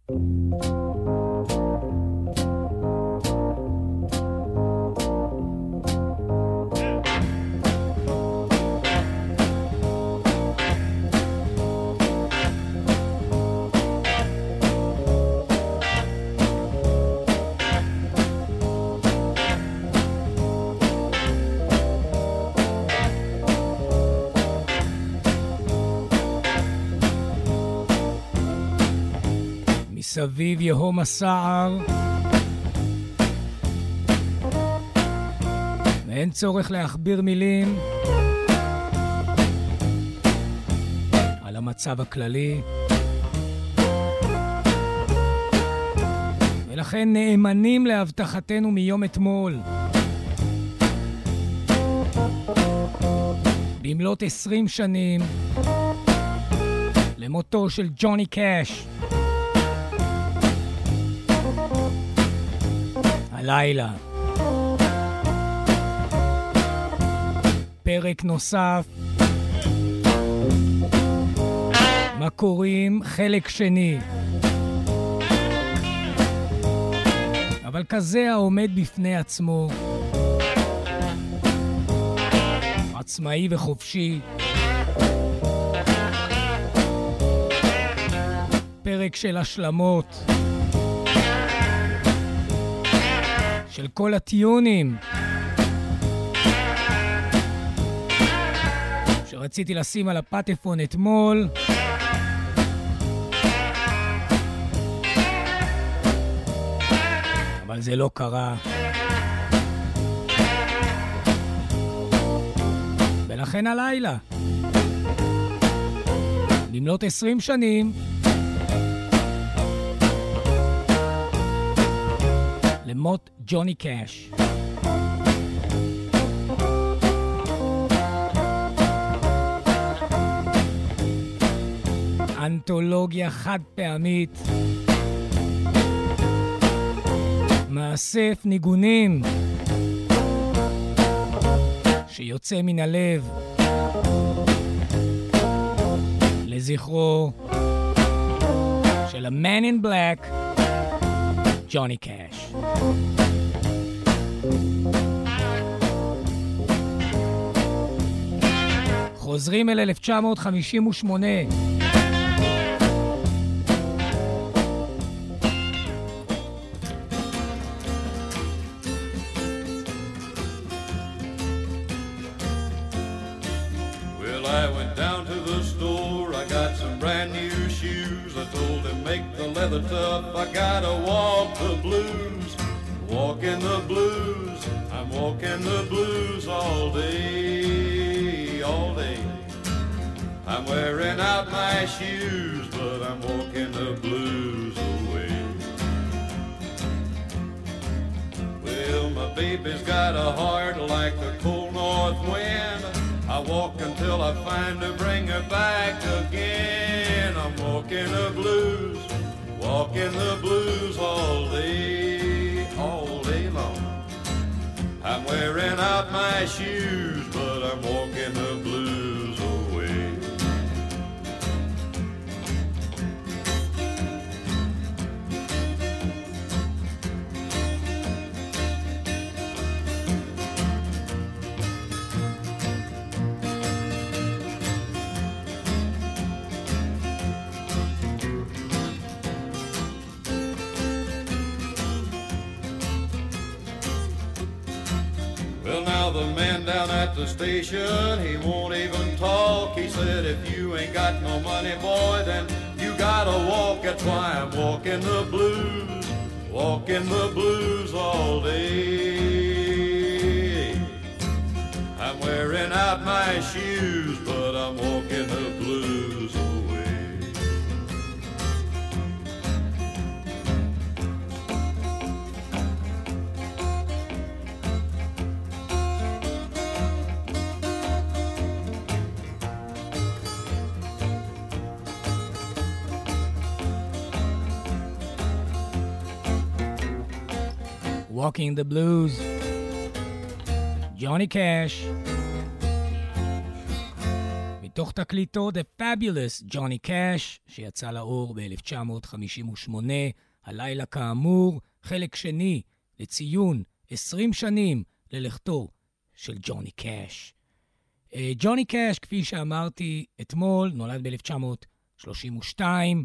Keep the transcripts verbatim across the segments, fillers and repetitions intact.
סביב יהום הסער, ואין צורך להכביר מילים על המצב הכללי, ולכן נאמנים להבטחתנו מיום אתמול. במלאת עשרים שנים למותו של ג'וני קאש, הלילה פרק נוסף, מה קוראים חלק שני, אבל כזה העומד בפני עצמו, עצמאי וחופשי. פרק של השלמות, של כל הטיונים שרציתי לשים על הפטפון אתמול, אבל זה לא קרה, ולכן הלילה במלאת עשרים שנים למות ג'וני קאש. אנתולוגיה חד פעמית, מאסף ניגונים שיוצא מן הלב לזכרו של ה-Man in Black, ג'וני קאש. חוזרים אל אלף תשע מאות חמישים ושמונה. Well, I went down to the store, I got some brand new shoes. I told him make the leather tough, I gotta walk the blues. Walking the blues, I'm walking the blues all day, all day. I'm wearing out my shoes, but I'm walking the blues away. Well, my baby's got a heart like the cold north wind. I walk until I find her, bring her back again. I'm walking the blues, walking the blues all day, all day long. I'm wearing out my shoes, but I'm walking the blues away. Well, now the man down at the station, he won't even talk. He said, if you ain't got no money, boy, then you gotta walk. That's why I'm walking the blues, walking the blues all day. I'm wearing out my shoes, but I'm walking the blues away. Walking the Blues, ג'וני קאש, מתוך תקליטו The Fabulous Johnny Cash, שיצא לאור ב-אלף תשע מאות חמישים ושמונה, הלילה כאמור, חלק שני לציון עשרים שנים ללכתו של ג'וני קאש. ג'וני קאש, כפי שאמרתי אתמול, נולד ב-אלף תשע מאות שלושים ושתיים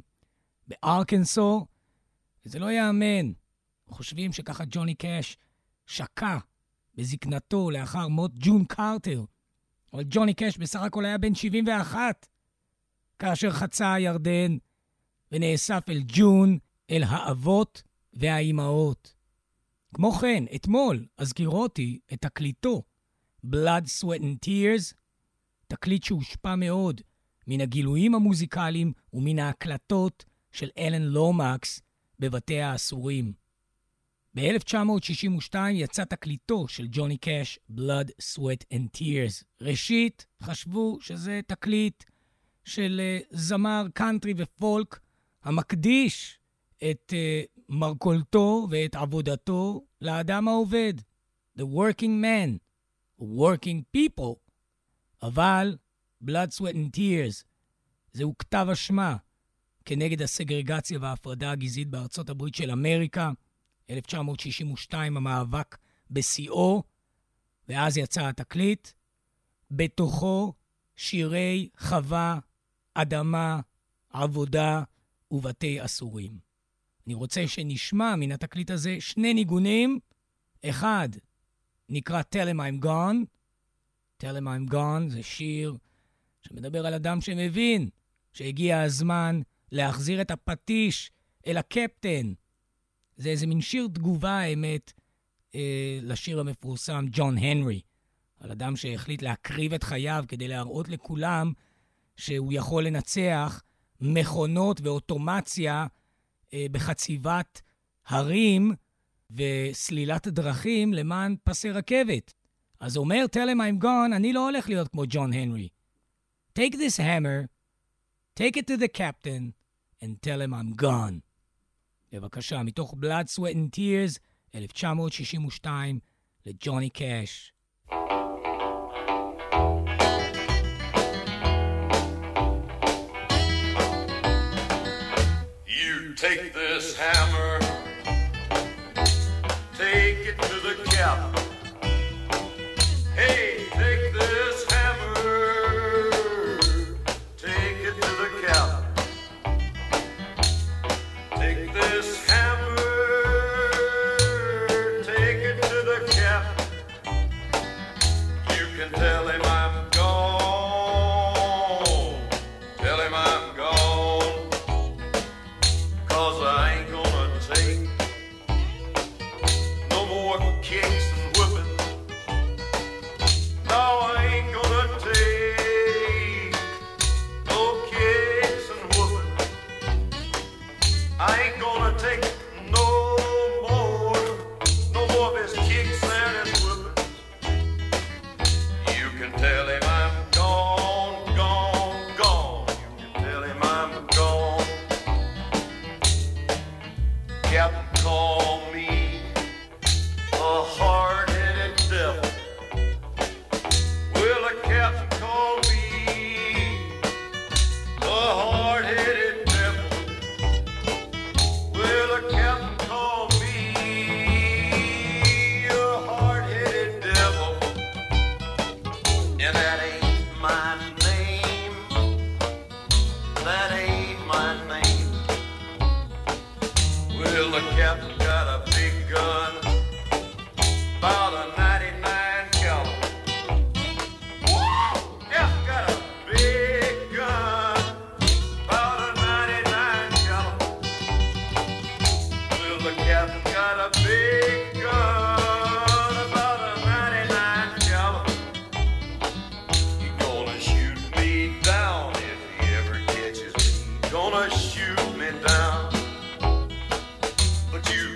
בארקנסו, וזה לא יאמן. חושבים שככה ג'וני קאש שקע בזקנתו לאחר מות ג'ון קרטר, אבל ג'וני קאש בסך הכל היה בן שבעים ואחת, כאשר חצה הירדן ונאסף אל ג'ון, אל האבות והאימהות. כמו כן, אתמול הזכירותי את תקליטו Blood, Sweat and Tears, תקליט שהושפע מאוד מן הגילויים המוזיקליים ומן ההקלטות של אלן לומקס בבתי האסורים. ב-אלף תשע מאות שישים ושתיים יצא תקליטו של ג'וני קאש Blood, Sweat and Tears. ראשית, חשבו שזה תקליט של uh, זמר קאנטרי ופולק המקדיש את uh, מרכולתו ואת עבודתו לאדם העובד. The working man, working people. אבל Blood, Sweat and Tears זהו כתב אשמה כנגד הסגרגציה וההפרדה הגזעית בארצות הברית של אמריקה. אלף תשע מאות שישים ושתיים המאבק בשיאו, ואז יצא התקליט. בתוכו שירי חווה, אדמה, עבודה ובתי אסורים. אני רוצה שנשמע מן התקליט הזה שני ניגונים. אחד נקרא Tell him I'm gone. Tell him I'm gone זה שיר שמדבר על אדם שמבין שהגיע הזמן להחזיר את הפטיש אל הקפטן. זה איזה מין שיר תגובה, האמת, אה, לשיר המפורסם ג'ון הנרי, על אדם שהחליט להקריב את חייו כדי להראות לכולם שהוא יכול לנצח מכונות ואוטומציה אה, בחציבת הרים וסלילת דרכים למען פסי רכבת. אז אומר, tell him I'm gone, אני לא הולך להיות כמו ג'ון הנרי. Take this hammer, take it to the captain, and tell him I'm gone. בבקשה, מתוך Blood, Sweat and Tears, אלף תשע מאות שישים ושתיים, לג'וני קאש. You take this hammer, take it to the captain. Hey, take this hammer, take it to the captain. Take this hammer, take it to the captain. You can tell him I'm gone, tell him I'm gone, 'cause I ain't gonna take no more kicks and whipping. No, I ain't gonna take no kicks and whooping. I ain't gonna take no more, no more of his kicks and his whoopings. You can tell him I'm gone, gone, gone. You can tell him I'm gone. Captain called me a hard-headed devil. Well, the captain called me a hard-headed devil. Well, the captain called me a hard-headed devil. And that ain't my name. That ain't my name. Well, the captain got a big gun, about a ninety-nine caliber. Yeah, got a big gun, about a ninety-nine caliber. Well, the captain got a big gun, about a ninety-nine caliber. He gonna shoot me down if he ever catches me. Gonna shoot me down. But you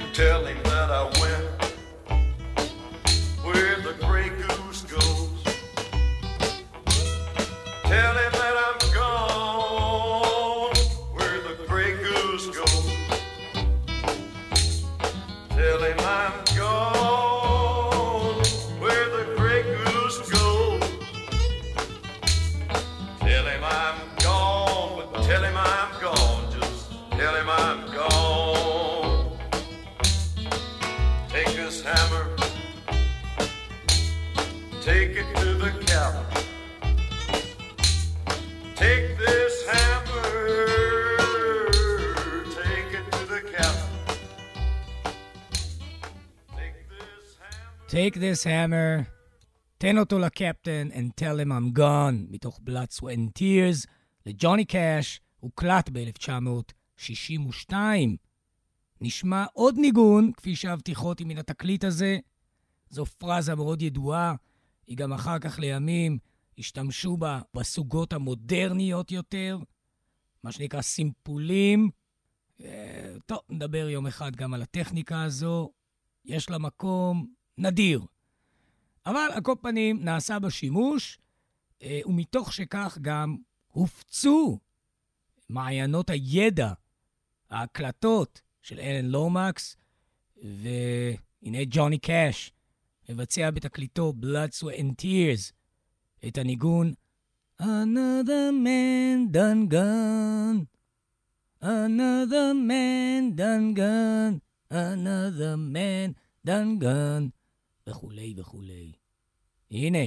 Take this hammer, תן אותו לקפטן, and tell him I'm gone, מתוך Blood, Sweat and Tears, לג'וני קאש, הוקלט ב-אלף תשע מאות שישים ושתיים. נשמע עוד ניגון, כפי שהבטיחותי מן התקליט הזה. זו פרזה מאוד ידועה, היא גם אחר כך לימים השתמשו בה בסוגות המודרניות יותר, מה שנקרא סימפולים. טוב, נדבר יום אחד גם על הטכניקה הזו, יש לה מקום נדיר. אבל על כל פנים נעשה בשימוש, ומתוך שכך גם הופצו מעיינות הידע, ההקלטות של אלן לומקס, והנה ג'וני קאש מבצע בתקליטו Blood, Sweat and Tears את הניגון Another man done gone, Another man done gone, Another man done gone, וכולי וכולי. הנה.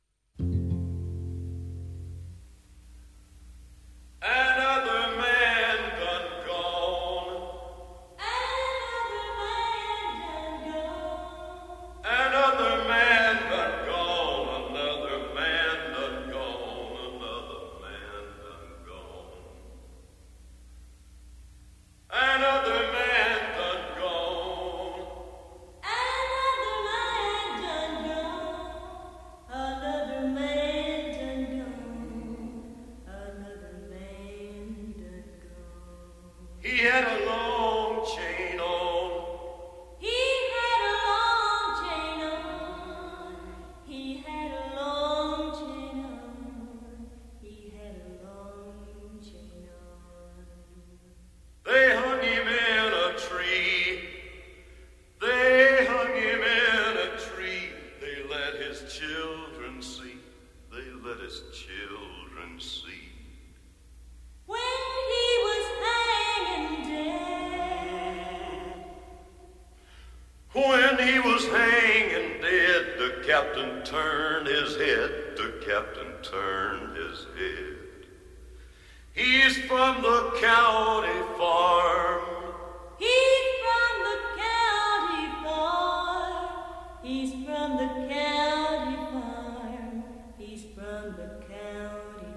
Another man done gone. Another man done gone. Another man done gone. Another man done gone. Another man done gone. Another man done gone. Another man done gone. Another man done gone. He had a long chain on. He had a long chain on. He had a long chain on. He had a long chain on. They hung him in a tree. They hung him in a tree. They let his children see. They let his children see. When he was hanging dead, When he was hanging dead, the captain turned his head. The captain turned his head. He's from the county farm. he's from the county farm. He's from the county farm. He's from the county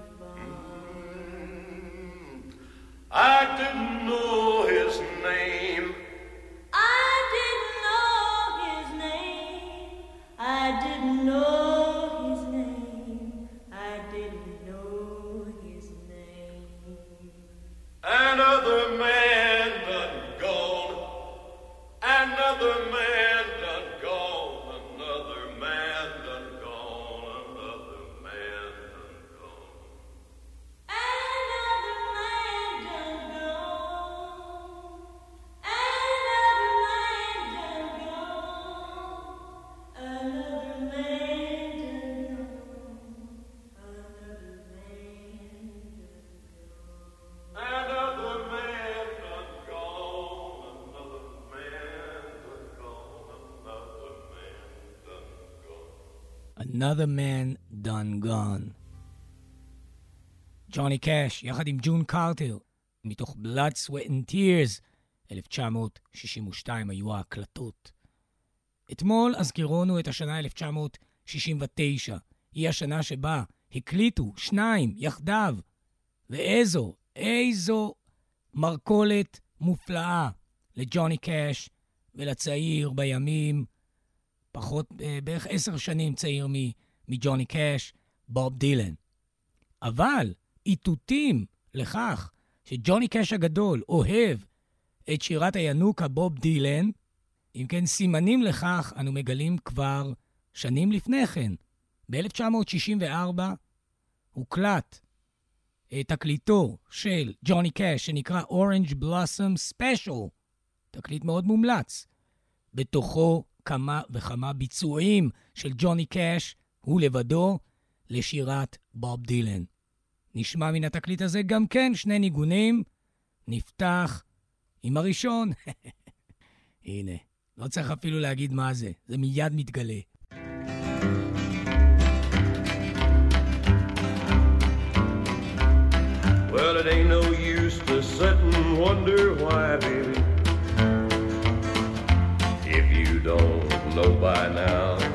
farm. I didn't know his name. I didn't know his name. I didn't know his name. I didn't know his name. Another man done gone. Another man done gone. Another man done gone. Another man done gone. Another man done gone. Another man done gone. Another man done gone. Another man done gone. Another man done gone. Another Another Man Done Gone. ג'וני קאש, יחד עם ג'ון קרטר, מתוך Blood, Sweat and Tears, אלף תשע מאות שישים ושתיים היו ההקלטות. אתמול הזכירונו את השנה אלף תשע מאות שישים ותשע, היא השנה שבה הקליטו שניים יחדיו, ואיזו, איזו מרקולת מופלאה לג'וני קאש ולצעיר בימים, פחות, בערך עשר שנים צעיר מג'וני קאש, בוב דילן. אבל איתותים לכך שג'וני קאש הגדול אוהב את שירת הינוקה בוב דילן, אם כן סימנים לכך אנו מגלים כבר שנים לפני כן. ב-אלף תשע מאות שישים וארבע הוקלט תקליטו של ג'וני קאש שנקרא Orange Blossom Special, תקליט מאוד מומלץ. בתוכו כמה וכמה ביצועים של ג'וני קאש, הוא לבדו, לשירת בוב דילן. נשמע מן התקליט הזה גם כן שני ניגונים. נפתח עם הראשון. הנה, לא צריך אפילו להגיד מה זה, זה מיד מתגלה. Well, it ain't no use to sit and wonder why, baby. If you don't know by now,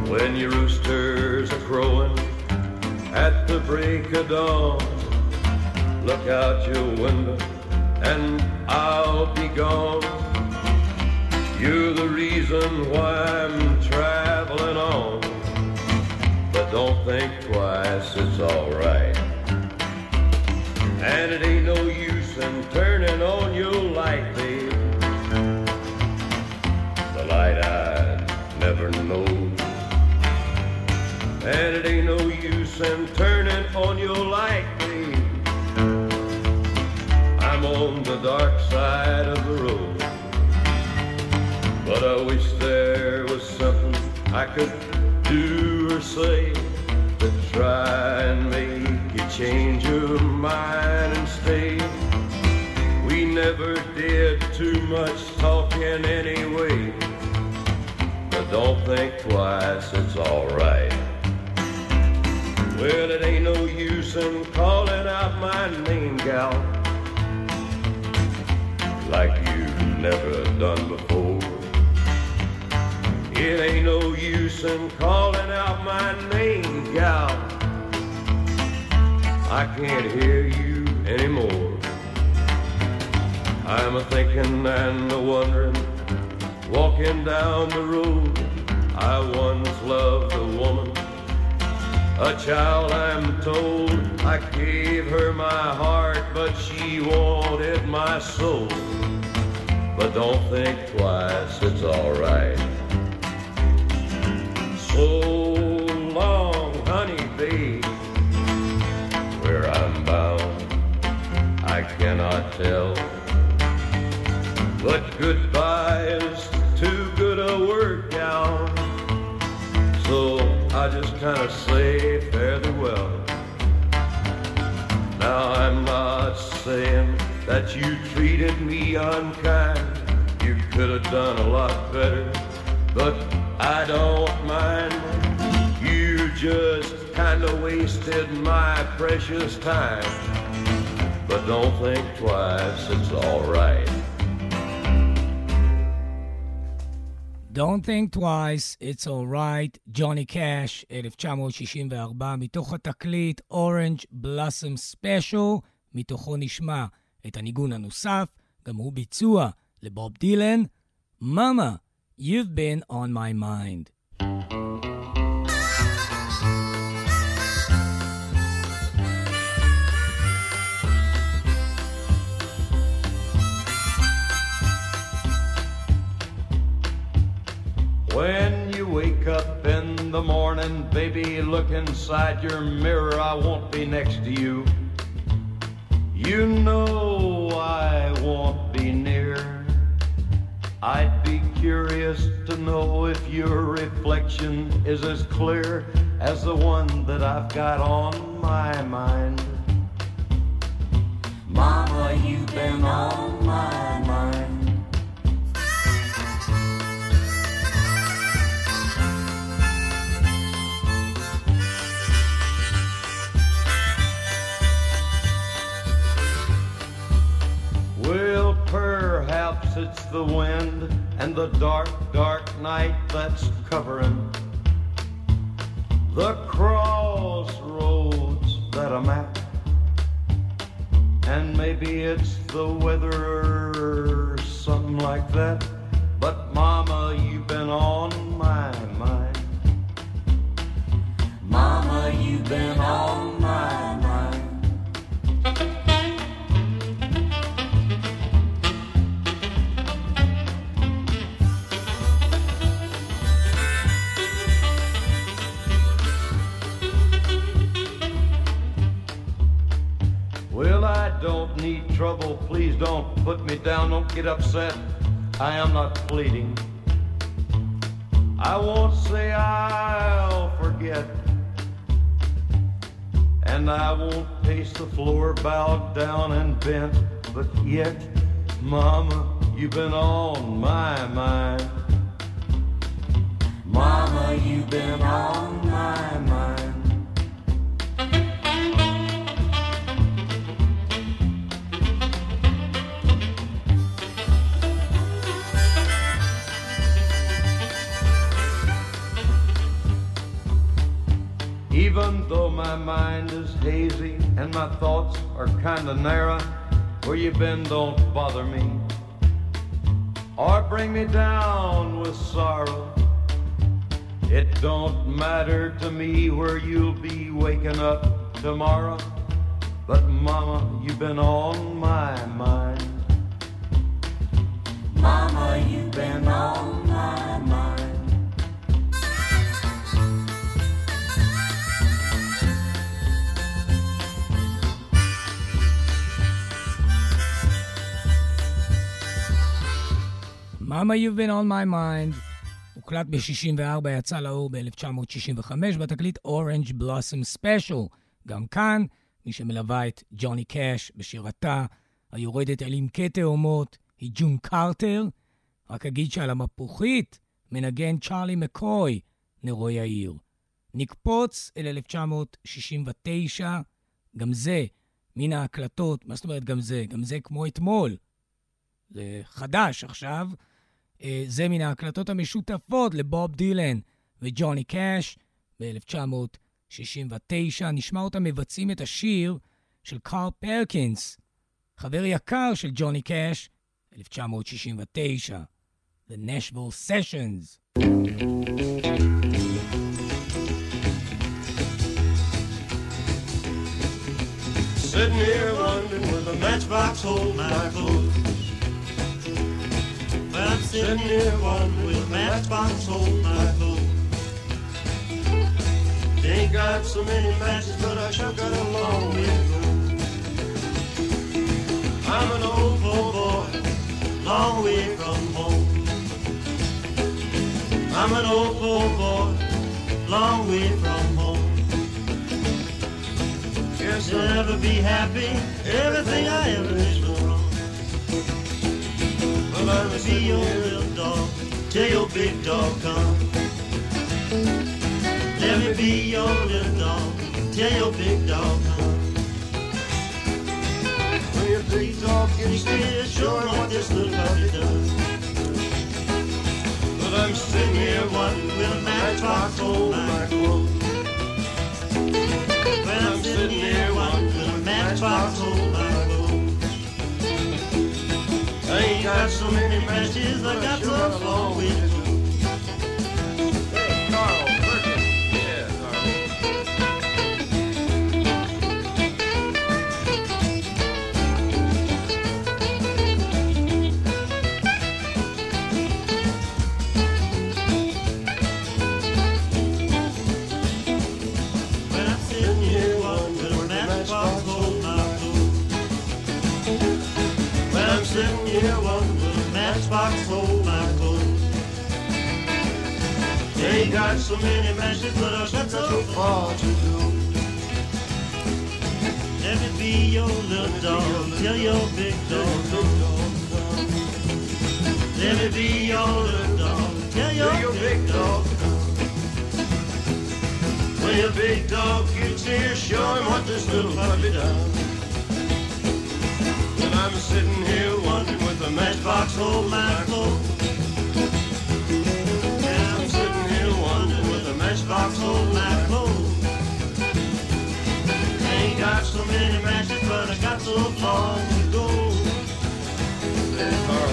When your roosters are crowing at the break of dawn, look out your window and I'll be gone. You're the reason why I'm traveling on, but don't think twice, it's alright. And it ain't no use in turning on your light, babe, the light I never know. And it ain't no use in turning on your light, babe, I'm on the dark side of the road. But I wish there was something I could do or say to try and make you change your mind and stay. We never did too much talking anyway, but don't think twice, it's alright. Well, it ain't no use in calling out my name, gal, like you've never done before. It ain't no use in calling out my name, gal, I can't hear you anymore. I'm a-thinking and a-wondering, walking down the road. I once loved a woman, a child I'm told. I gave her my heart, but she wanted my soul. But don't think twice, it's alright. So long, honey, babe, where I'm bound I cannot tell, but goodbye is too good a word, gal, so I just kind of say fairly well. Now I'm not saying that you treated me unkind, you could have done a lot better, but I don't mind. You just kind of wasted my precious time, but don't think twice, it's alright. Don't think twice, it's alright, ג'וני קאש, אלף תשע מאות שישים וארבע, מתוך התקליט Orange Blossom Special, מתוכו נשמע את הניגון הנוסף, גם הוא ביצוע לבוב דילן, Mama, You've Been on My Mind. When you wake up in the morning, baby, look inside your mirror, I won't be next to you. You know I won't be near. I'd be curious to know if your reflection is as clear as the one that I've got on my mind. Mama, you've been on my mind. Well, perhaps it's the wind and the dark, dark night that's covering the crossroads that I'm at. And maybe it's the weather or something like that, but Mama, you've been on my mind. Mama, you've been on my mind. Well, I don't need trouble, please don't put me down, don't get upset, I am not pleading. I won't say I'll forget, and I won't pace the floor bowed down and bent, but yet, Mama, you've been on my mind. Mama, you've been on my mind. Even though my mind is hazy and my thoughts are kinda narrow, where you been don't bother me or bring me down with sorrow. It don't matter to me where you'll be waking up tomorrow, but mama, you've been on my mind. Mama, you've been on my mind. Mama, You've Been On My Mind הוקלט ב-שישים וארבע, יצא לאור ב-אלף תשע מאות שישים וחמש בתקליט Orange Blossom Special. גם כאן, מי שמלווה את ג'וני קאש בשירתה היורדת אל עמקי תאומות היא ג'ון קרטר. רק אגיד שעל המפוחית מנגן צ'ארלי מקוי, נרוי העיר. נקפוץ אל אלף תשע מאות שישים ותשע, גם זה מן ההקלטות, מה זאת אומרת גם זה? גם זה כמו אתמול. זה חדש עכשיו. זה מן ההקלטות המשותפות לבוב דילן וג'וני קאש ב-אלף תשע מאות שישים ותשע. נשמע אותם מבצעים את השיר של קארל פרקינס, חבר יקר של ג'וני קאש, אלף תשע מאות שישים ותשע, The Nashville Sessions. Sitting here wondering where the matchbox hold my clothes. I'm sitting here wondering with a matchbox hold my clothes. Ain't got so many matches, but I sure got a long way to go. I'm an old poor boy, Long way from home. I'm an old poor boy, long way from home. yes, You'll never be happy, everything I ever did was wrong. but I'm Let me be your little dog, till your big dog come. Let me be your little dog, till your big dog come. when your big dog You gets can there, sure what this little puppy does. but I'm sitting here wondering With a matchbox hold my clothes. When I'm sitting here wondering with a matchbox hold my clothes. I ain't got so many matches, I got so long way to go. Hey, Carl, Perkins. Yeah, Carl. When I'm sitting here wondering with a matchbox hold my clothes. When I'm sitting here wondering with a matchbox hold my clothes. Ain't got so many matches, but I got so far to go. Let me be your little dog, till your big dog comes. Let me be your little dog, till your, Your big big dog dog comes. When your big dog gets here, show him what this little puppy does. When I'm sitting here wondering with a matchbox hold my clothes. And I'm sitting here wondering with a matchbox hold my clothes. Ain't got so many matches, but I got so far to go. Hey, Carl.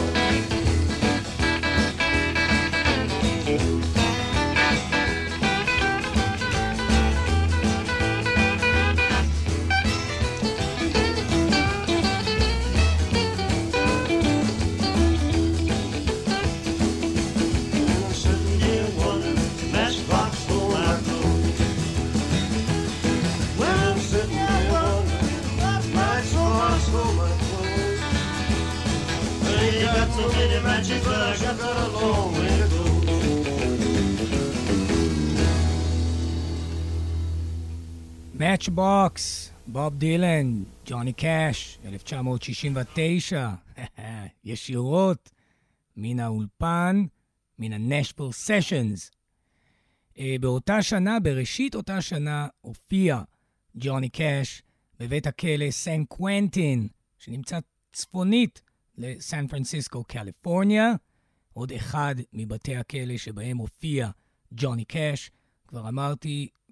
I'm sitting here wondering, matchbox hold my clothes. When I'm sitting here wondering, matchbox hold my clothes. I ain't got so many matches, but I got got a long way to go. Matchbox, בוב דילן, ג'וני קאש, אלף תשע מאות שישים ותשע. ישירות מן האולפן, מן ה-Nashville Sessions. באותה שנה, בראשית אותה שנה, הופיע ג'וני קאש בבית הכלא סן קוונטין, שנמצא צפונית לסן פרנסיסקו, קליפורניה. עוד אחד מבתי הכלא שבהם הופיע ג'וני קאש. כבר אמרתי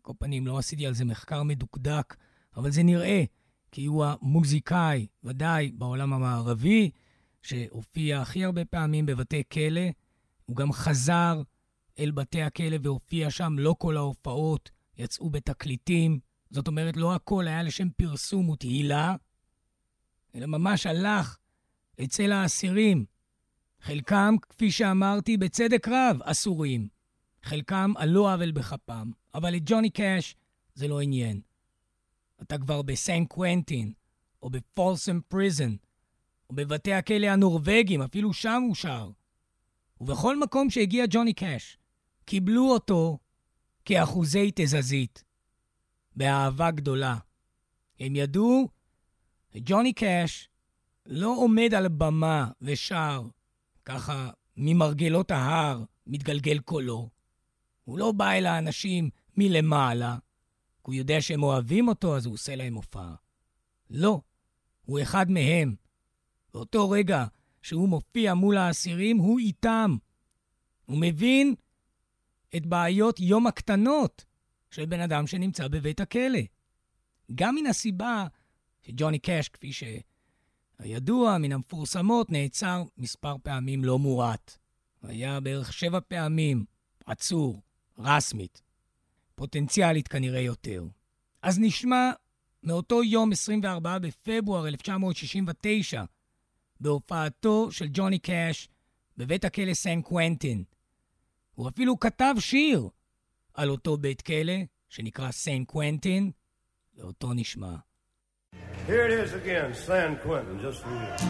כל פנים לא עשיתי על זה מחקר מדוקדק, אבל זה נראה כי הוא המוזיקאי, ודאי בעולם המערבי, שהופיע הכי הרבה פעמים בבתי כלא. הוא גם חזר אל בתי הכלא והופיע שם. לא כל ההופעות יצאו בתקליטים. זאת אומרת, לא הכל היה לשם פרסום ותהילה, אלא ממש הלך אצל האסירים. חלקם, כפי שאמרתי, בצדק רב אסורים. חלקם על לא עוול בכפם. אבל את ג'וני קאש זה לא עניין. אתה כבר בסן קוונטין, או בפולסם פריזן, או בבתי הכלא הנורווגים, אפילו שם הוא שר. ובכל מקום שהגיע ג'וני קאש, קיבלו אותו כאחוזי תזזית, באהבה גדולה. הם ידעו, ג'וני קאש לא עומד על במה ושר, ככה ממרגלות ההר מתגלגל קולו. הוא לא בא אל האנשים מלמעלה, הוא יודע שהם אוהבים אותו, אז הוא עושה להם הופעה. לא, הוא אחד מהם. באותו רגע שהוא מופיע מול האסירים, הוא איתם. הוא מבין את בעיות יום הקטנות של בן אדם שנמצא בבית הכלא. גם מן הסיבה שג'וני קאש, כפי שהידוע מן המפורסמות, נעצר מספר פעמים לא מועט. היה בערך שבע פעמים עצור, רסמית. פוטנציאלית כנראה יותר. אז נשמע מאותו יום עשרים וארבעה בפברואר אלף תשע מאות שישים ותשע, בהופעתו של ג'וני קאש בבית הכלא סן קוונטין. הוא אפילו כתב שיר על אותו בית כלא שנקרא סן קוונטין, ואותו נשמע. Here it is again, San Quentin, just for you.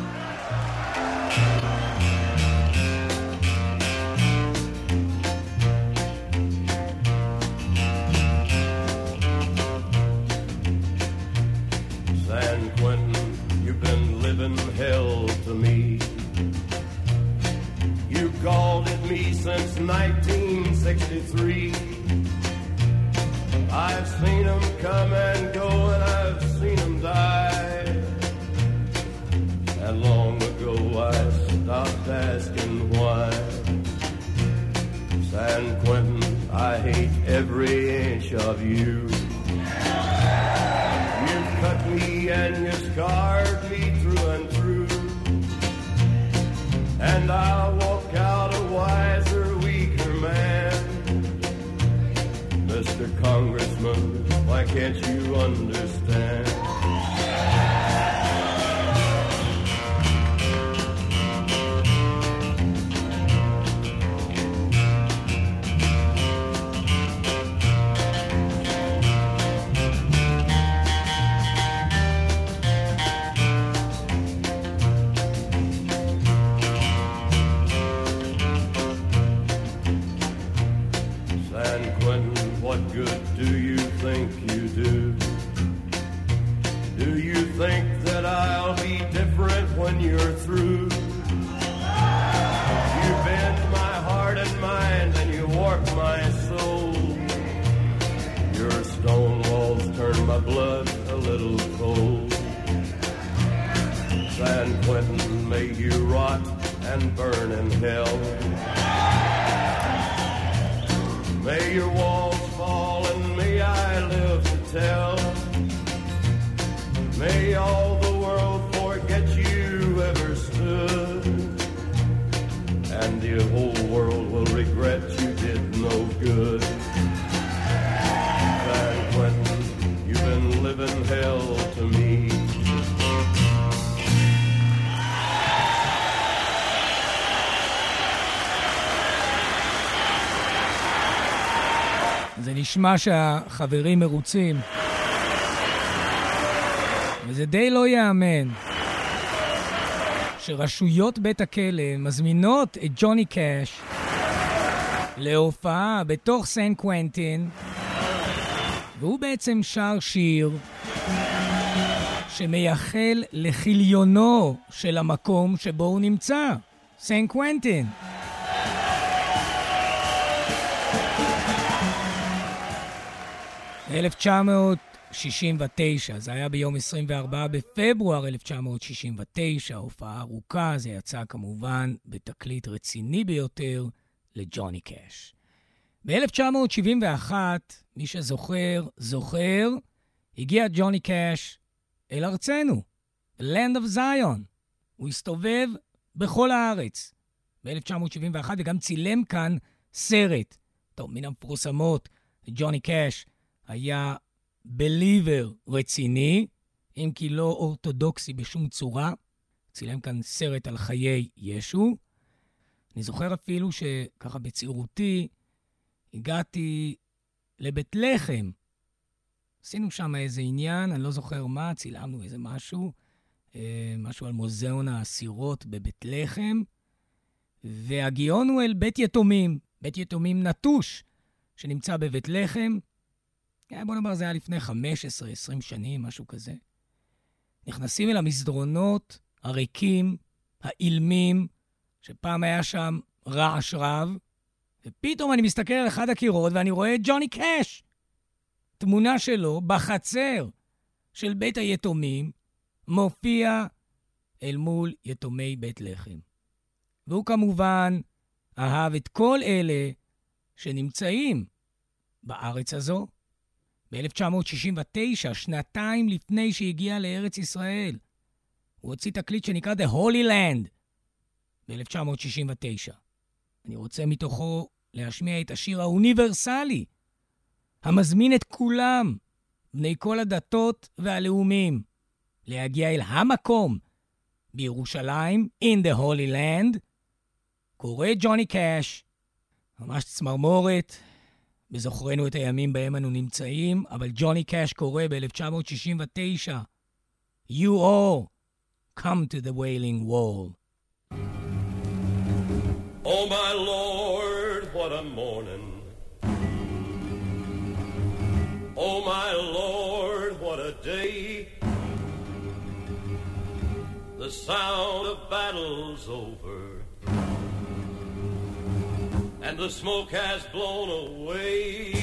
San Quentin, you've been living hell to me. You called it me since nineteen sixty-three. I've seen them come and go and I've seen them die. And long ago I stopped asking why. San Quentin, I hate every inch of you. You cut me and you scarred me through and through. And I'll walk out a wiser, weaker man. Mister Congressman, why can't you understand? What good do you think you do? Do you think that I'll be different when you're through? You bend my heart and mind and you warp my soul. Your stone walls turn my blood a little cold. San Quentin, may you rot and burn in hell. May your walls fall and may I live to tell. May all the world forget you ever stood. And the whole world will regret you did no good. San Quentin, you've been living hell to me. זה נשמע שהחברים מרוצים, וזה די לא יאמן שרשויות בית הכלא מזמינות את ג'וני קאש להופעה בתוך סן קוונטין, והוא בעצם שר שיר שמייחל לחיליונו של המקום שבו הוא נמצא, סן קוונטין. אלף תשע מאות שישים ותשע, זה היה ביום עשרים וארבעה בפברואר אלף תשע מאות שישים ותשע, הופעה ארוכה, זה יצא כמובן בתקליט רציני ביותר לג'וני קאש. ב-אלף תשע מאות שבעים ואחת, מי שזוכר, זוכר, הגיע ג'וני קאש אל ארצנו, Land of Zion. הוא הסתובב בכל הארץ ב-אלף תשע מאות שבעים ואחת, וגם צילם כאן סרט. טוב, מן המפורסמות, ג'וני קאש היה בליבר רציני, אם כי לא אורתודוקסי בשום צורה. צילם כאן סרט על חיי ישו. אני זוכר אפילו שככה בצעירותי הגעתי לבית לחם. עשינו שם איזה עניין, אני לא זוכר מה, צילמנו איזה משהו, משהו על מוזיאון האסירות בבית לחם, והגיעונו אל בית יתומים, בית יתומים נטוש, שנמצא בבית לחם. בוא נאמר, זה היה לפני חמש עשרה עשרים שנים, משהו כזה. נכנסים אל המסדרונות הריקים, האילמים, שפעם היה שם רעש רב, ופתאום אני מסתכל על אחד הקירות ואני רואה את ג'וני קאש. תמונה שלו בחצר של בית היתומים מופיע אל מול יתומי בית לחם. והוא כמובן אהב את כל אלה שנמצאים בארץ הזו. ב-אלף תשע מאות שישים ותשע, שנתיים לפני שהגיע לארץ ישראל, הוא הוציא תקליט שנקרא The Holy Land ב-אלף תשע מאות שישים ותשע. אני רוצה מתוכו להשמיע את השיר האוניברסלי, המזמין את כולם, בני כל הדתות והלאומים, להגיע אל המקום בירושלים, in the Holy Land. קורא ג'וני קאש, ממש צמרמורת, בזוכרנו את הימים בהם אנו נמצאים, אבל ג'וני קאש קורא ב-אלף תשע מאות שישים ותשע, You all come to the Wailing Wall. Oh my Lord, what a morning. Oh my Lord, what a day. The sound of battle's over, and the smoke has blown away.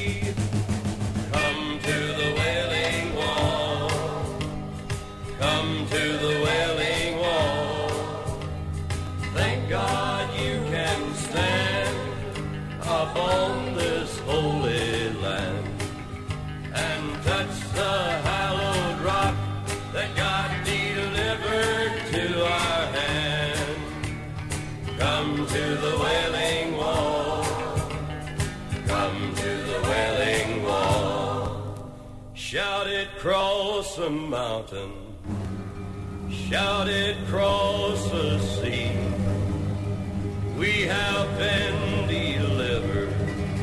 Come to the Wailing Wall. Come to the Wailing Wall. Thank God you can stand upon this holy land and touch the hallowed rock that God delivered to our hand. Come to the Wailing Wall. Come to the Wailing Wall. Shout it cross the mountain. Shout it cross the sea. We have been delivered.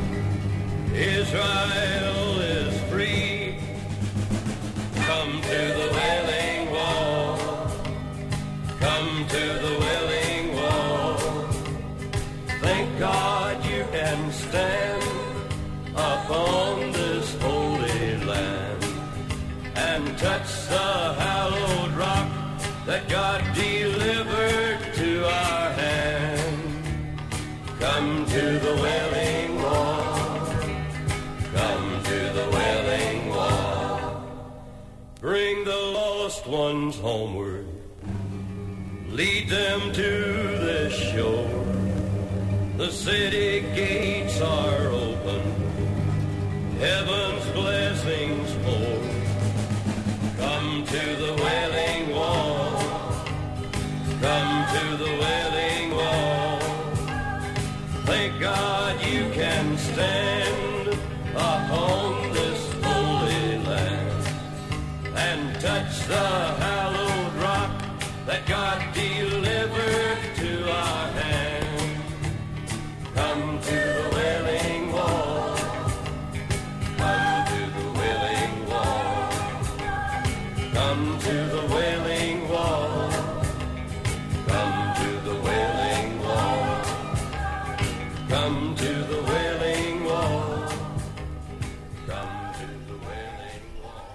Israel is free. Come to the Wailing Wall. Come to the Wailing Wall. Thank God you can stand upon this holy land and touch the hallowed rock that God delivered to our hand. Come to the Wailing Wall. Come to the Wailing Wall. Bring the lost ones homeward. Lead them to the shore. The city gates are open. Heaven's blessings pour. Come to the Wailing Wall. Come to the Wailing Wall. Thank God you can stand upon this holy land and touch the hallowed rock that God delivered to our hand. Come to the Wailing Wall. Come to the Wailing Wall. Come to the Wailing Wall. Come to the Wailing Wall. Come to the Wailing Wall. Come to the Wailing Wall.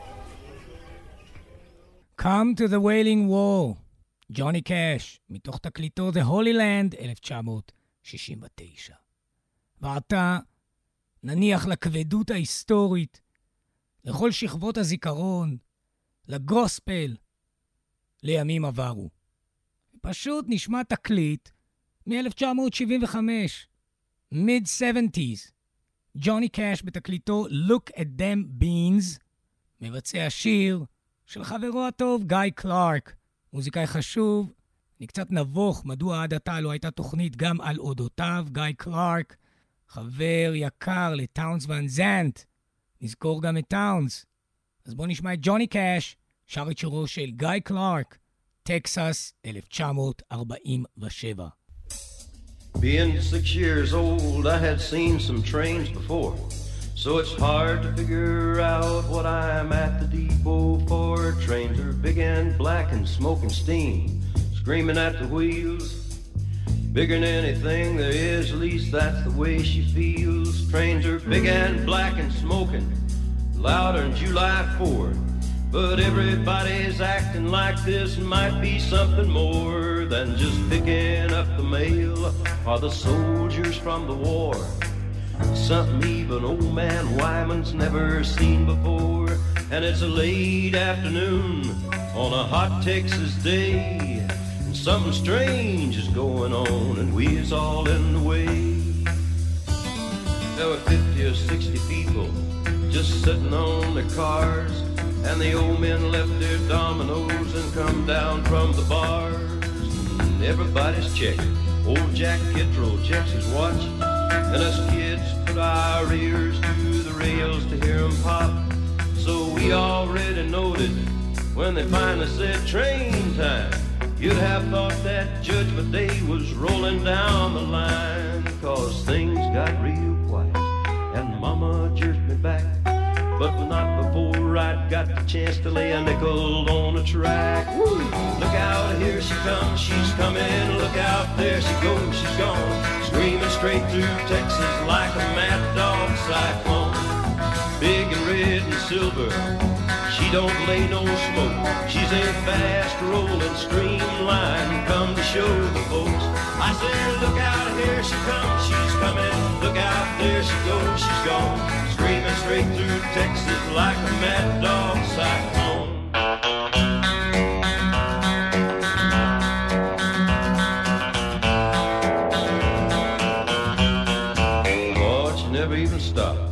Come to the Wailing Wall. ג'וני קאש, מתוך תקליטו The Holy Land, אלף תשע מאות שישים ותשע. ועתה נניח לכבדות ההיסטורית, לכל שכבות הזיכרון, לגוספל, לימים עברו. פשוט נשמע תקליט מ-אלף תשע מאות שבעים וחמש, mid-שבעים, ג'וני קאש בתקליטו Look at Them Beans, מבצע שיר של חברו הטוב גיא קלארק, מוזיקאי חשוב. אני קצת נבוך מדוע עד עתה לא הייתה תוכנית גם על אודותיו. גיא קלארק, חבר יקר לטאונס ון זנט, נזכור גם את טאונס. אז בואו נשמע את ג'וני קאש, שר את שירו של גיא קלארק, טקסס, אלף תשע מאות ארבעים ושבע. Being six years old, I had seen some trains before, so it's hard to figure out what I'm at the depot for. Trains are big and black and smoking steam, screaming at the wheels. Bigger than anything there is, at least that's the way she feels. Trains are big and black and smoking, louder than July fourth. But everybody's acting like this might be something more than just picking up the mail or the soldiers from the war. Something even old man Wyman's never seen before. And it's a late afternoon on a hot Texas day, and something strange is going on and we's all in the way. There were fifty or sixty people just sitting on their cars, and the old men left their dominoes and come down from the bars. And everybody's checking. Old Jack Kittredge checks his watch, and us kids put our ears to the rails to hear him pop. So we already noted when they finally said train time. You'd have thought that Judgment Day was rolling down the line, 'cause things got real quiet and Mama jerked me back. But not before I'd got the chance to lay a nickel on the track. Woo! Look out, here she comes, she's coming. Look out, there she goes, she's gone. Screaming straight through Texas like a mad dog cyclone. Big and red and silver, she don't lay no smoke. She's a fast rolling streamline, come to show the folks. I said, look out, here she comes, she's coming. Look out, there she goes, she's gone. Screaming straight through Texas like a mad dog cyclone. But she never even stopped.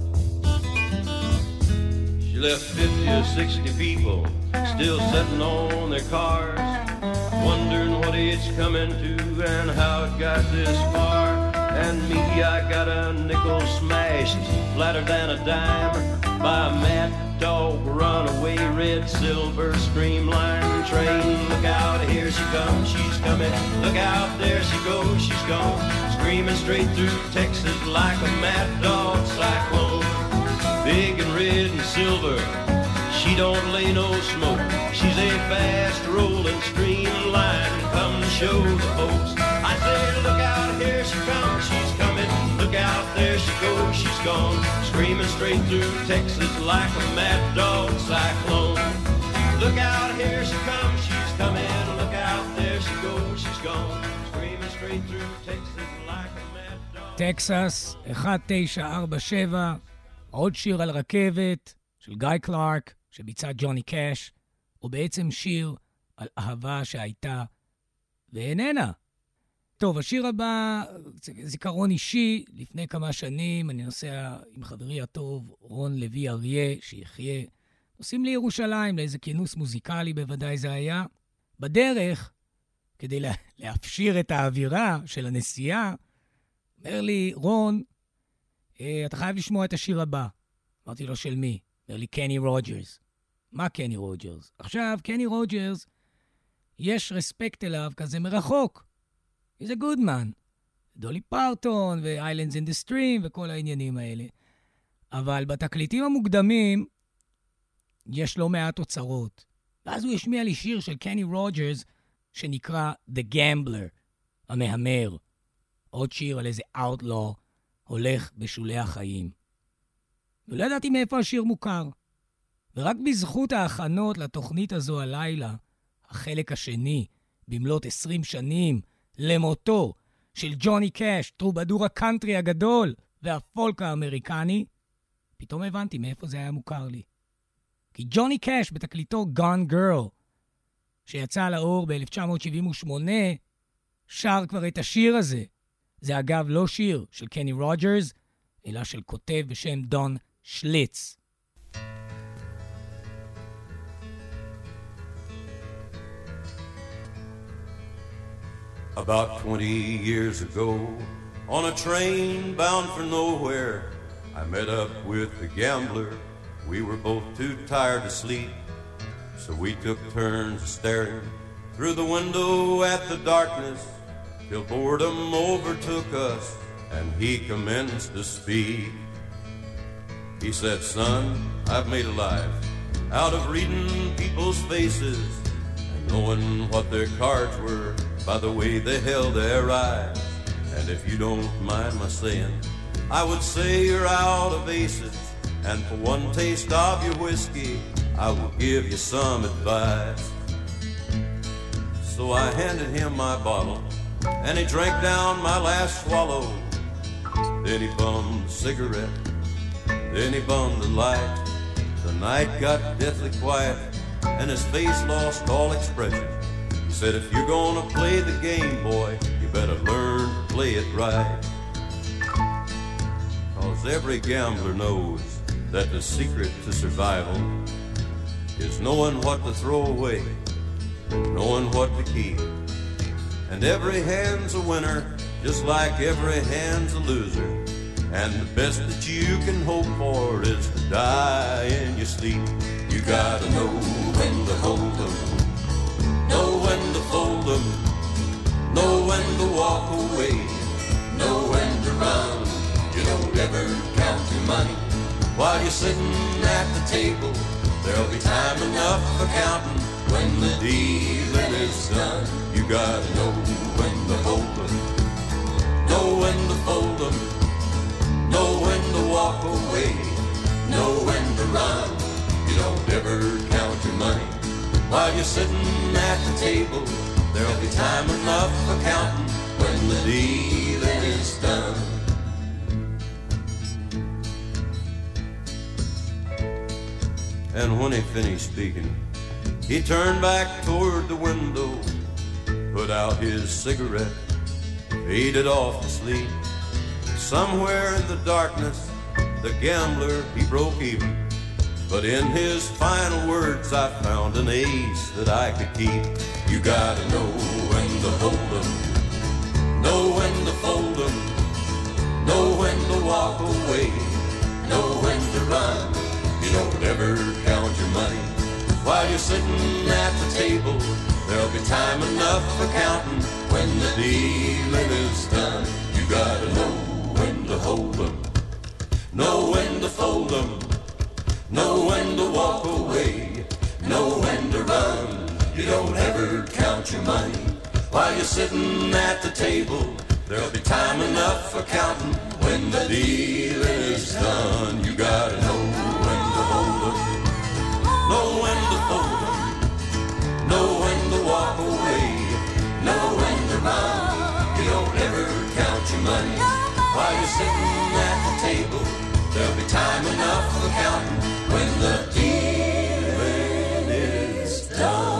She left fifty or sixty people still sitting on their cars, wondering what it's coming to and how it got this far. And me, I got a nickel smashed flatter than a dime by a mad dog runaway red silver streamline train. Look out, here she comes, she's coming. Look out, there she goes, she's gone. Screaming straight through Texas like a mad dog cyclone. Big and red and silver, she don't lay no smoke. She's a fast rolling streamline, come to show the folks. I said, look out, here she comes, she's coming. Look out, there she goes, she's gone. Screaming straight through Texas like a mad dog cyclone. Look out, here she comes, she's coming. Look out, there she goes, she's gone. Screaming straight through Texas like a mad dog. טקסס, אחת תשע ארבע שבע, עוד שיר על רכבת של גיא קלארק שביצע ג'וני קאש, הוא בעצם שיר על אהבה שהייתה ואיננה. טוב, השיר הבא, זיכרון אישי, לפני כמה שנים אני נוסע עם חברי הטוב רון לוי אריה, שיחיה, נוסעים לירושלים לאיזה כינוס מוזיקלי, בוודאי זה היה. בדרך, כדי לה, להפשיר את האווירה של הנסיעה, אומר לי, רון, אתה חייב לשמוע את השיר הבא. אמרתי לו, של מי? אומר לי, קני רוג'רס. מה קני רוג'רס? עכשיו, קני רוג'רס, יש רספקט אליו כזה מרחוק. He's a good man. דולי פרטון ו-Islands in the Stream וכל העניינים האלה. אבל בתקליטים המוקדמים יש לא מעט אוצרות. ואז הוא השמיע לי שיר של קני רוג'רס שנקרא The Gambler, המהמר. עוד שיר על איזה outlaw הולך בשולי החיים. ולא ידעתי מאיפה השיר מוכר. ורק בזכות ההכנות לתוכנית הזו הלילה, החלק השני, במלאת עשרים שנים, למותו של ג'וני קאש, טרובדור הקאנטרי הגדול והפולק האמריקני, פתאום הבנתי מאיפה זה היה מוכר לי. כי ג'וני קאש בתקליטו Gone Girl, שיצא לאור ב-אלף תשע מאות שבעים ושמונה, שר כבר את השיר הזה. זה אגב לא שיר של קני רוג'רס, מילה של כותב בשם דון שליץ. About twenty years ago, on a train bound for nowhere, I met up with a gambler. We were both too tired to sleep, so we took turns staring through the window at the darkness till boredom overtook us and he commenced to speak. He said, "Son, I've made a life out of reading people's faces and knowing what their cards were by the way they held their eyes. And if you don't mind my saying, I would say you're out of aces, and for one taste of your whiskey, I will give you some advice." So I handed him my bottle, and he drank down my last swallow. Then he bummed a cigarette, then he bummed the light. The night got deathly quiet, and his face lost all expression. He said, "If you're gonna play the game, boy, you better learn to play it right. 'Cause every gambler knows that the secret to survival is knowing what to throw away, knowing what to keep. And every hand's a winner, just like every hand's a loser. And the best that you can hope for is to die in your sleep. You gotta know when to hold 'em, know when to fold 'em, know when to walk away, know when to run. You don't ever count your money while you're sitting at the table. There'll be time enough for counting when the dealing is done. You gotta know when to hold 'em, know when to fold 'em, know when to walk away, know when to run. You don't ever count your money while you're sitting at the table. There'll be time enough for counting when the dealing is done. And when he finished speaking, he turned back toward the window, put out his cigarette, faded off to sleep. Somewhere in the darkness, the gambler, he broke even. But in his final words, I found an ace that I could keep. You gotta know when to hold 'em, know when to fold 'em, know when to walk away, know when to run. You don't ever count your money while you're sitting at the table. There'll be time enough for counting when the dealing is done. You gotta know when to hold 'em, know when to fold 'em, know when to walk away, know when to run. You don't ever count your money while you're sitting at the table. There'll be time enough for counting when the dealing is done. You gotta know when to hold 'em, know when to fold 'em, know when to walk away, know when to run. You don't ever count your money while you're sitting at the table. There'll be time enough for counting when the dealing is done.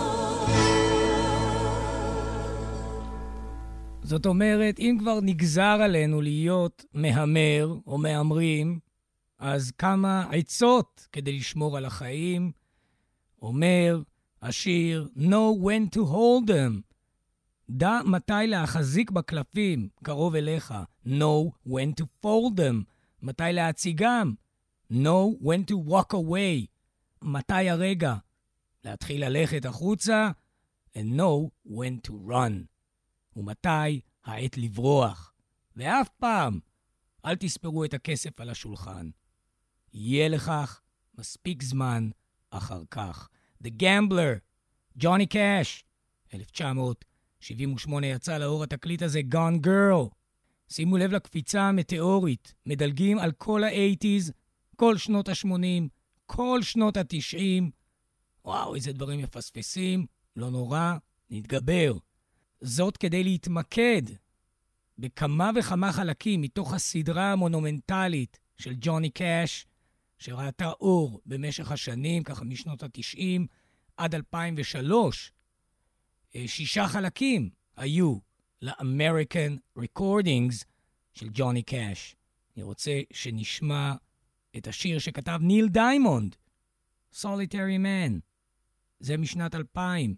זאת אומרת, אם כבר נגזר עלינו להיות מהמר או מהמרים, אז כמה עצות כדי לשמור על החיים. אומר השיר, know when to hold them. דע מתי להחזיק בקלפים קרוב אליך. know when to fold them. מתי להציגם. know when to walk away. מתי הרגע להתחיל ללכת החוצה. and know when to run. ומתי העת לברוח. ואף פעם אל תספרו את הכסף על השולחן. יהיה לכך מספיק זמן אחר כך. The Gambler, ג'וני קאש, אלף תשע מאות שבעים ושמונה יצא לאור התקליט הזה Gone Girl. שימו לב לקפיצה המטאורית, מדלגים על כל ה-שמונים, כל שנות ה-שמונים, כל שנות ה-תשעים. וואו, איזה דברים מפספסים, לא נורא, נתגבר. זאת כדי להתמקד בכמה וכמה חלקים מתוך הסדרה המונומנטלית של ג'וני קאש, שראתה אור במשך השנים, ככה משנות ה-תשעים עד אלפיים ושלוש. שישה חלקים היו ל-American Recordings של ג'וני קאש. אני רוצה שנשמע את השיר שכתב ניל דיימונד, Solitary Man. זה משנת אלפיים.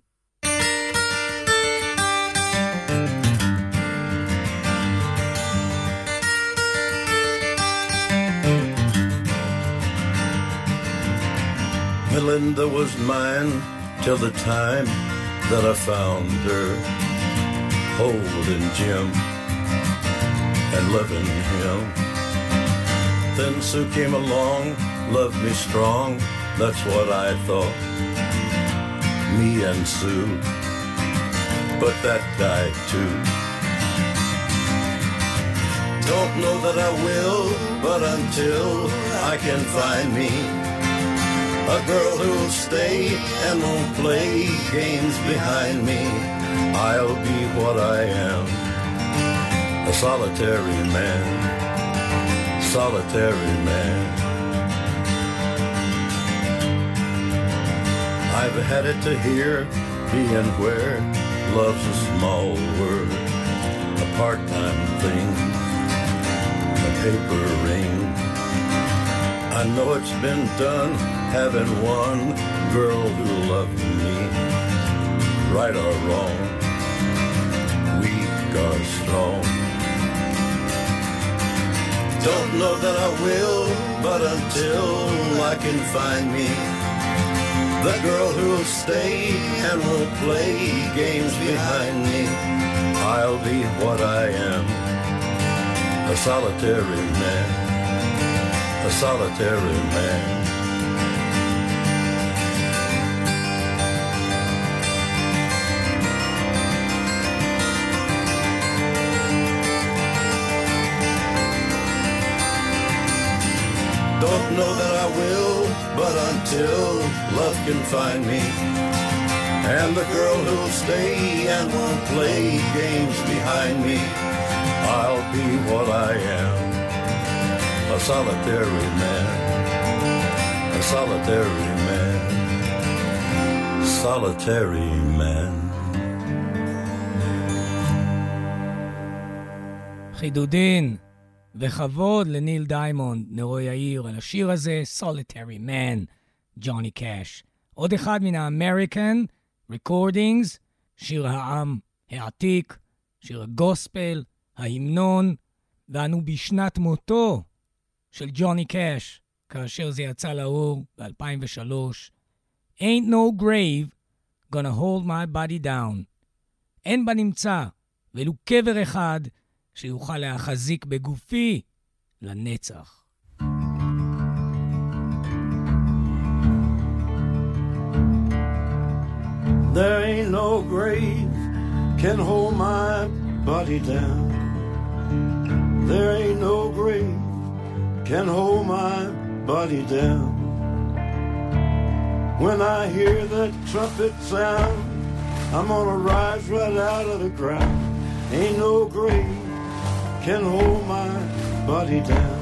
Melinda was mine till the time that I found her holding Jim and loving him. Then Sue came along, loved me strong, that's what I thought, me and Sue, but that died too. Don't know that I will, but until I can find me a girl who'll stay and won't play games behind me, I'll be what I am, a solitary man, solitary man. I've had it to hear, being where love's a small word, a part-time thing, a paper ring. I know it's been done, having one girl who loved me, right or wrong, weak or strong. Don't know that I will, but until I can find me the girl who'll stay and won't play games behind me, I'll be what I am, a solitary man, a solitary man. Don't know that I will, but until love can find me, and the girl who'll stay and won't play games behind me, I'll be what I am, a solitary man, a solitary man, solitary man. חידודין וכבוד לניל דיימונד, נרו יאיר, על השיר הזה, Solitary Man, ג'וני קאש. עוד אחד מן האמריקן ריקורדינגס, שיר העם העתיק, שיר הגוספל, ההמנון, ואנו בשנת מותו של ג'וני קאש, כאשר זה יצא לאור ב-אלפיים ושלוש. Ain't no grave gonna hold my body down. אין בנמצא ולו קבר אחד שיוכל להחזיק בגופי לנצח. There ain't no grave can hold my body down. There ain't no grave can hold my body down. When I hear that trumpet sound, I'm gonna rise right out of the ground. Ain't no grave can hold my body down.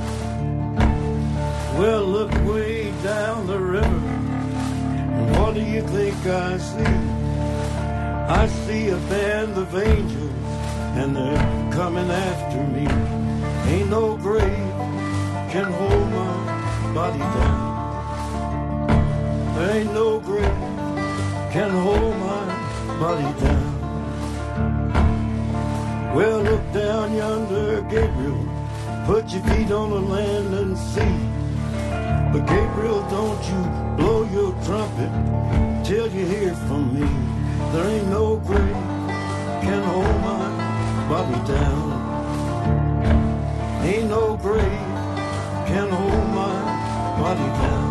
Well, look way down the river, and what do you think I see? I see a band of angels, and they're coming after me. Ain't no grave can hold my body down. There ain't no grave can hold my body down. Well, look down yonder, Gabriel, put your feet on the land and see. But Gabriel, don't you blow your trumpet till you hear from me. There ain't no grave can hold my body down. Ain't no grave can hold my body down.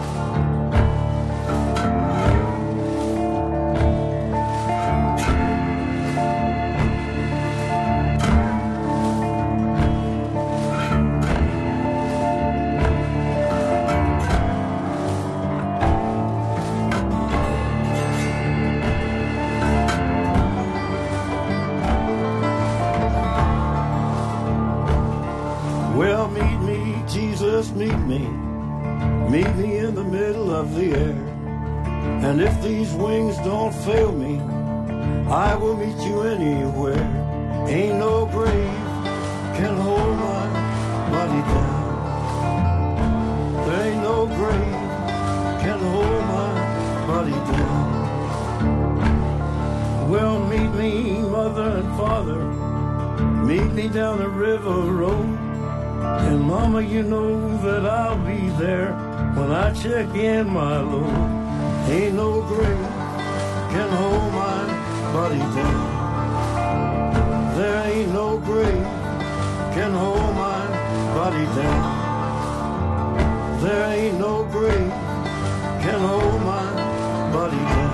Meet me, meet me in the middle of the air. And if these wings don't fail me, I will meet you anywhere. Ain't no grave can hold my body down. There ain't no grave can hold my body down. Well, meet me, mother and father, meet me down the river road. And mama, you know that I'll be there when I check in my load. Ain't no grave can hold my body down. There ain't no grave can hold my body down. There ain't no grave can hold my body down.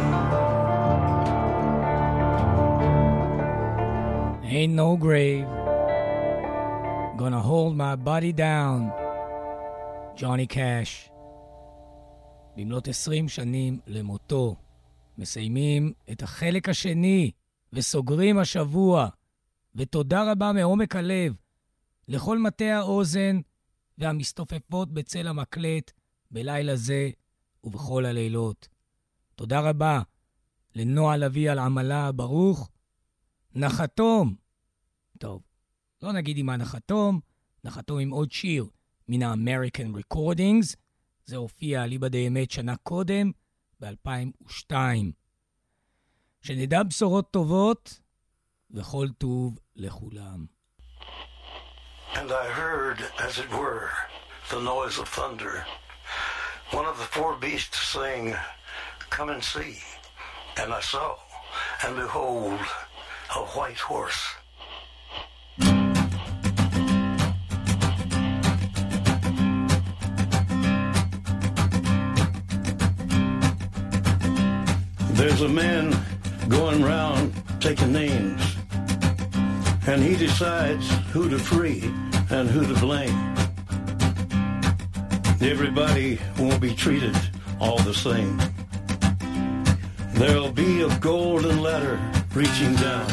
Ain't no grave gonna hold my body down. ג'וני קאש. במלאת עשרים שנים למותו, מסיימים את החלק השני וסוגרים השבוע. ותודה רבה מעומק הלב לכל מטה האוזן והמסתופפות בצל המקלט בלילה זה ובכל הלילות. תודה רבה לנועה לוי על עמלה ברוך. נחתום. טוב, לא נגיד עם הנחתום, נחתום עם עוד שיר מן ה-American Recordings. זה הופיע על איבא די אמת שנה קודם, ב-אלפיים ושתיים. שנדע בשורות טובות וכל טוב לכולם. And I heard, as it were, the noise of thunder. One of the four beasts saying, "Come and see." And I saw, and behold, a white horse. There's a man going round taking names, and he decides who to free and who to blame. Everybody won't be treated all the same. There'll be a golden ladder reaching down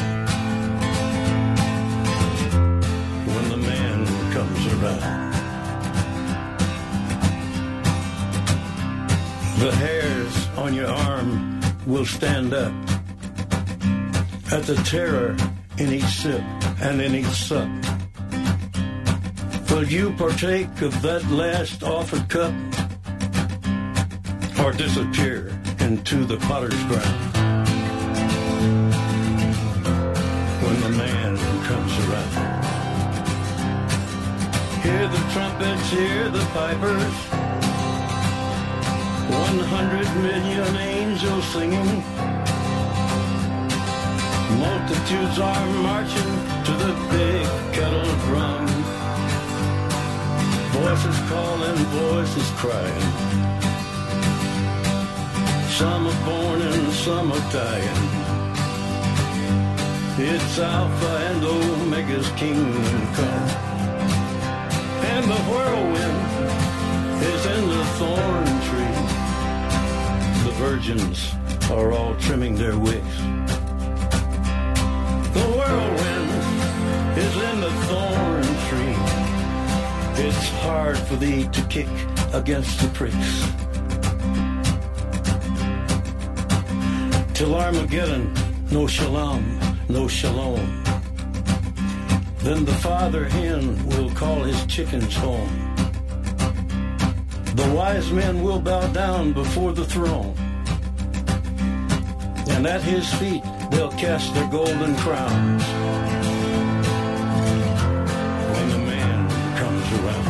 when the man comes around. The hairs on your arm will stand up at the terror in each sip and in each sup. Will you partake of that last offered cup, or disappear into the potter's ground when the man comes around? Hear the trumpets, hear the pipers, one hundred million angels singing. Multitudes are marching to the big kettle drum. Voices calling, voices crying. Some are born and some are dying. It's Alpha and Omega's kingdom come. And the whirlwind is in the thorn tree. The virgins are all trimming their wicks. The whirlwind is in the thorn tree. It's hard for thee to kick against the pricks. Till Armageddon, no shalom, no shalom. Then the father hen will call his chickens home. The wise men will bow down before the throne, and at his feet they'll cast their golden crowns when the man comes around.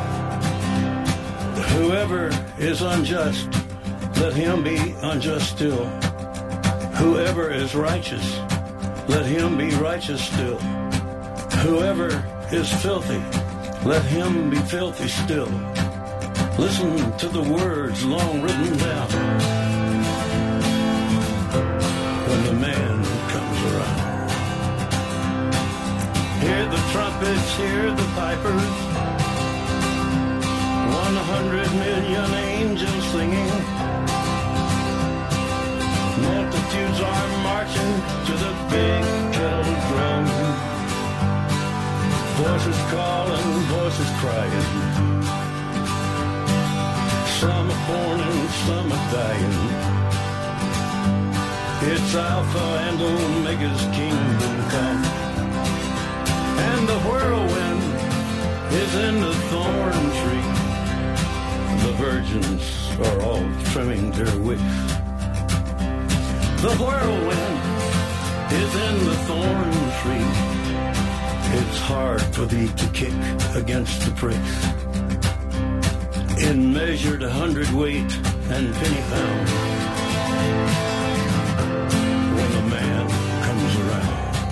Whoever is unjust, let him be unjust still. Whoever is righteous, let him be righteous still. Whoever is filthy, let him be filthy still. Listen to the words long written down when the man comes around. Hear the trumpets, hear the pipers, one hundred million angels singing. Multitudes are marching to the big kettle drum. Voices calling, voices crying. Some are born and some are dying. It's Alpha and Omega's kingdom come. And the whirlwind is is in the thorn tree. The virgins are all trimming their wicks. The whirlwind is in the thorn tree. It's hard for thee to kick against the pricks. In measured hundredweight and penny pound, when the man comes around.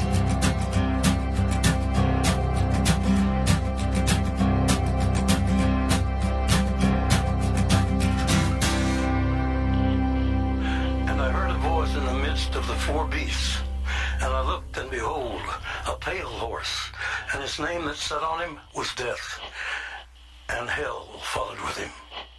And I heard a voice in the midst of the four beasts, and I looked, and behold, a pale horse, and his name that sat on him was Death, and hell followed with him.